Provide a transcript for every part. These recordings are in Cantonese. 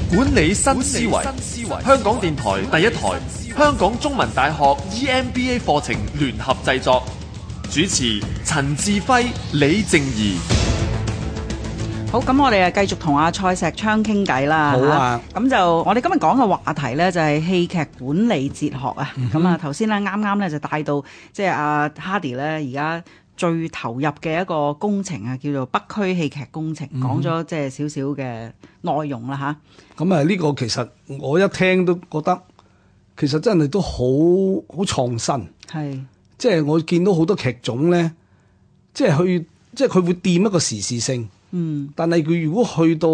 管理新思維，香港電台第一台，香港中文大學 EMBA 課程聯合製作，主持陳志輝、李靜宜。 好，咁我哋啊繼續同阿蔡錫昌傾偈啦。 好啊， 咁就我哋今日講嘅話題咧就係戲劇管理哲學啊。咁啊頭先咧啱啱咧就帶到即係阿 Hardy 咧而家最投入嘅一個工程啊，叫做北區戲劇工程，講咗即係少少嘅內容啦吓。 咁啊呢個其實我一聽都覺得其實真係都好創新。係，即係我見到好多劇種咧，即係佢會掂一個時事性。但係佢如果去到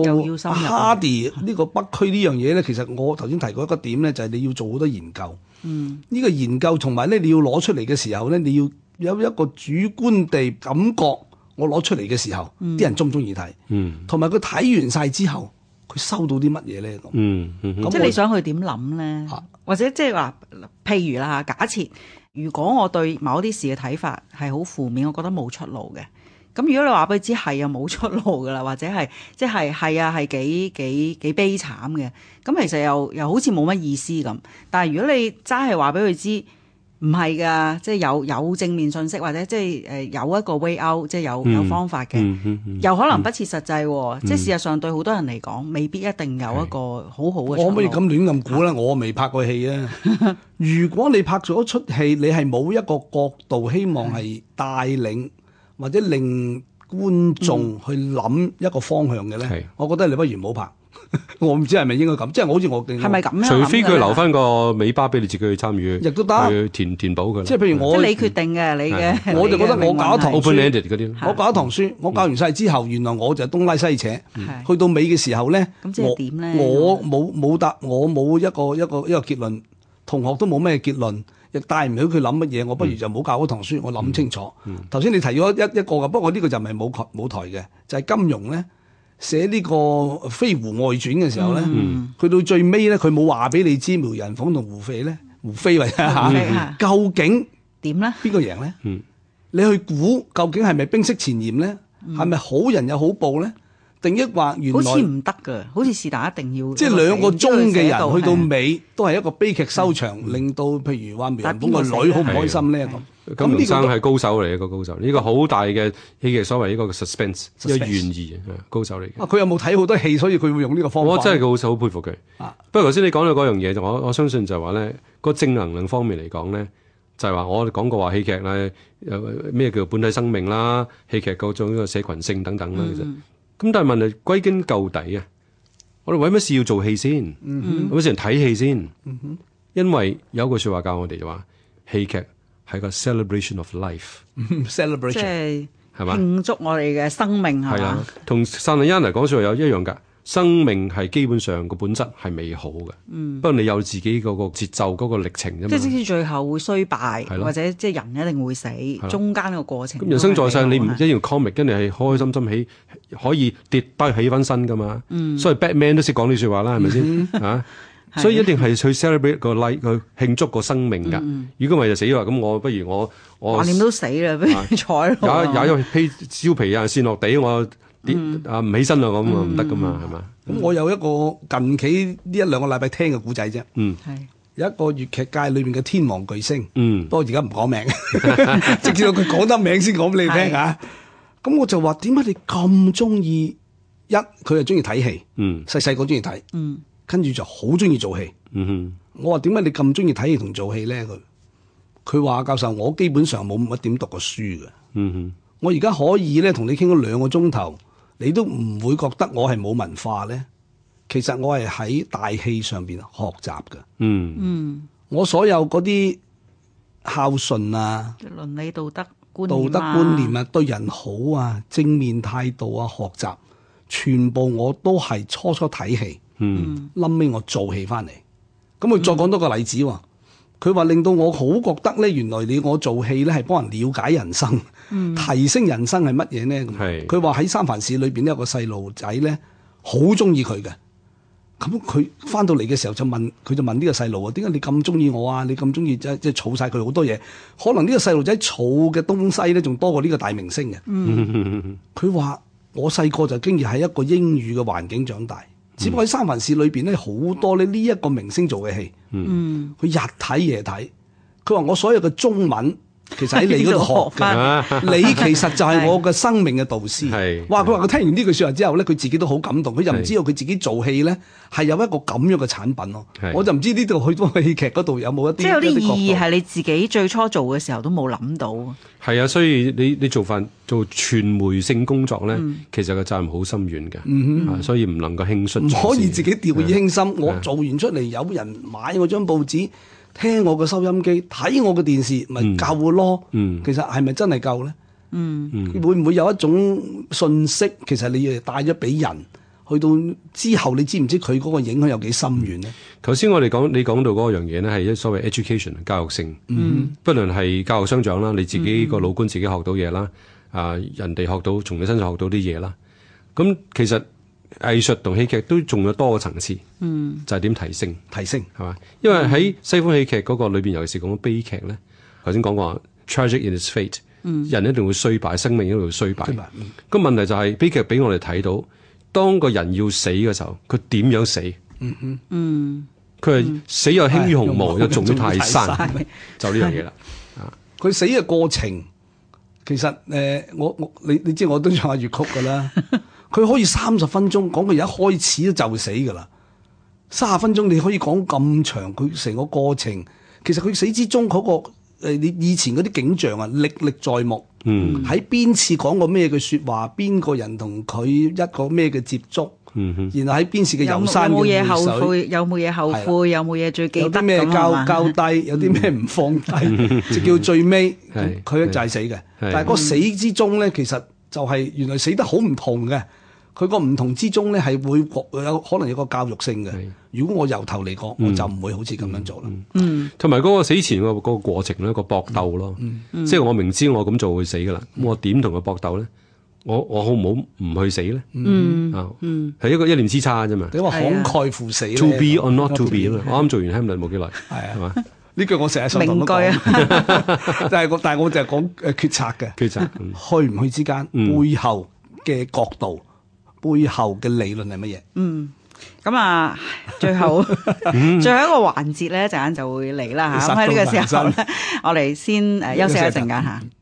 Hardy 呢個北區呢樣嘢咧，其實我頭先提過一個點咧，就係你要做好多研究。呢個研究同埋咧，你要攞出嚟嘅時候咧，你要有一個主觀地感覺，我攞出嚟嘅時候，啲人中唔中意睇？同埋佢睇完晒之後，佢收到啲乜嘢咧？咁即係你想佢點諗咧？或者即係話，譬如啦嚇，假設如果我對某啲事嘅睇法係好負面，我覺得冇出路嘅。咁如果你話俾佢知係又冇出路噶啦，或者係即係係幾悲慘嘅，咁其實又好似冇乜意思咁。但係如果你齋係話俾佢知唔係噶，即係有正面信息，或者即係有一個 way out， 即係有方法嘅，又可能不切實際。即係事實上對好多人嚟講，未必一定有一個好好嘅。 我可唔可以咁亂咁估咧？我未拍過戲啊。如果你拍咗一出戲，你係冇一個角度，希望係帶領或者令觀眾去諗一個方向嘅咧，我覺得你不如唔好拍。我唔知係咪應該咁，即係好似我係咪咁樣？ 除非佢留翻個尾巴俾你自己去參與， 亦都得去填補佢。 即係譬如我， 即係你決定嘅，你嘅。 我就覺得我搞一堂書 open-ended 嗰啲， 我搞一堂書，我教完晒之後，原來我就東拉西扯，去到尾嘅時候咧， 咁即係點咧？ 我冇一個結論，同學都冇咩結論。亦帶唔到佢諗乜嘢，我不如就唔好教嗰堂書，我諗清楚。頭先你提咗一個嘅，不過呢個就唔係舞台嘅，就係金庸咧寫呢個《飛狐外傳》嘅時候咧，去到最尾咧，佢冇話俾你知苗人鳳同胡飛或者嚇，究竟點咧？ 邊個贏咧？你去估究竟係咪冰釋前嫌咧？係咪好人有好報咧？定抑或原來好似唔得㗎，好似是但一定要即係兩個鐘嘅人去到尾都係一個悲劇收場，令到譬如話苗人鳳個女好唔開心咧咁。 金庸生係高手嚟嘅，個高手，呢個好大嘅戲劇所謂呢個 suspense， 一個懸疑高手嚟嘅。 佢有冇睇好多戲，所以佢會用呢個方法？ 我真係好佩服佢。不過頭先你講到嗰樣嘢，我相信就係話咧，個正能量方面嚟講咧，就係話我哋講過話戲劇咧，咩叫本體生命啦，戲劇嗰種社群性等等啦，其實。咁但係問題歸根究底啊，我哋為乜事要做戲先？為乜事人睇戲先？因為有一句說話教我哋就話，戲劇係個 celebration of life，celebration 即係係嘛？ 慶祝我哋嘅生命係嘛？ 同薩利安嚟講說話有一樣噶。生命係基本上個本質係美好嘅，不過你有自己嗰個節奏嗰個歷程啫嘛。 即使最後會衰敗，或者即係人一定會死，中間個過程。 咁人生在世，你唔一定要 comic，跟住係開開心心起，可以跌低起翻身噶嘛。所以 Batman 都識講呢句話啦，係咪先啊？所以一定係去 celebrate 個 life，去慶祝個生命㗎。如果唔係就死啦。咁我不如我橫掂都死啦，不如彩咯。 有披燒皮啊，跣落地我。唔起身啦，咁啊唔得噶嘛，係嘛？ 咁我有一個近期呢一兩個禮拜聽嘅故仔啫。有一個粵劇界裏邊嘅天王巨星。不過而家唔講名，直至到佢講得名先講俾你聽嚇。咁我就話點解你咁中意？佢係中意睇戲，細細個中意睇，跟住就好中意做戲。我話點解你咁中意睇戲同做戲咧？佢話教授，我基本上冇乜點讀過書嘅。我而家可以咧同你傾咗2個鐘頭。你都唔會覺得我係冇文化咧？其實我係喺大戲上邊學習嘅。我所有嗰啲孝順啊、 倫理道德觀念啊、對人好啊、正面態度啊、學習，全部我都係初睇戲，臨尾我做戲翻嚟。咁佢再講多個例子喎。佢話令到我好覺得咧，原來我做戲咧係幫人了解人生，提升人生係乜嘢咧？佢話喺三藩市裏邊有個細路仔咧，好中意佢嘅。咁佢翻到嚟嘅時候就問呢個細路啊，點解你咁中意我啊？你咁中意即係儲晒佢好多嘢？可能呢個細路仔儲嘅東西咧，仲多過呢個大明星嘅。佢話我細個就經已喺一個英語嘅環境長大。 只不過喺三藩市裏邊咧，好多呢一個明星做嘅戲，佢日睇夜睇。佢話我所有嘅中文其實喺你嗰度學嘅，你其實就係我嘅生命嘅導師。哇！佢話佢聽完呢句説話之後咧，佢自己都好感動。佢就唔知道佢自己做戲咧係有一個咁樣嘅產品咯。我就唔知呢度去到戲劇嗰度有冇一啲即係有啲意義係你自己最初做嘅時候都冇諗到。 係啊，所以你做傳媒性工作咧，其實個責任好深遠嘅，所以唔能夠輕率， 唔可以自己掉以輕心。我做完出嚟，有人買我張報紙，聽我嘅收音機，睇我嘅電視，咪夠咯。其實係咪真係夠咧？會唔會有一種信息，其實你帶咗俾人，去到之後，你知唔知佢嗰個影響有幾深遠咧？ 頭先我哋你講到嗰樣嘢咧，係所謂 education 教育性，不論係教育相長啦，你自己個老官自己學到嘢啦，人哋從你身上學到啲嘢啦。咁其實藝術同戲劇都仲有多個層次，就係點提升係嘛？因為喺西方戲劇嗰個裏邊，尤其是講悲劇咧，頭先講過 tragic in its fate，人一定會衰敗，生命一定會衰敗。個問題就係悲劇俾我哋睇到，當個人要死嘅時候，佢點樣死？佢係死又輕於鴻毛，又重於泰山，就呢樣嘢啦。 佢死嘅過程，其實你知我都唱下粵曲噶啦。佢可以30分鐘講佢一開始就死噶啦，30分鐘你可以講咁長，佢成個過程，其實佢死之中嗰個你以前嗰啲景象啊，歷歷在目。喺邊次講過咩嘅説話，邊個人同佢一個咩嘅接觸，然後喺邊次嘅遊山嘅會水，有冇嘢後悔，有冇嘢最記得， 有啲咩交低，有啲咩唔放低，就叫最尾佢就係死嘅。但係個死之中咧，其實就係原來死得好唔同嘅。佢個唔同之中咧，係會有可能有個教育性嘅。如果我由頭嚟講，我就唔會好似咁樣做啦。 同埋嗰個死前嗰個過程咧，個搏鬥咯，即係我明知我咁做會死噶啦，我點同佢搏鬥咧？我好唔好唔去死咧？係一念之差啫嘛。 你話慷慨赴死 ，to be or not to be 啊嘛。我啱做完 Hamlet 冇幾耐，係嘛？ 呢句我成日想講。名句啊！但係我就係講決策嘅決策，去唔去之間背後嘅角度。背後嘅理論係乜嘢？ 咁啊，最後一個環節咧，陣間就會嚟啦嚇。咁喺呢個時候咧，我哋先休息一陣間嚇。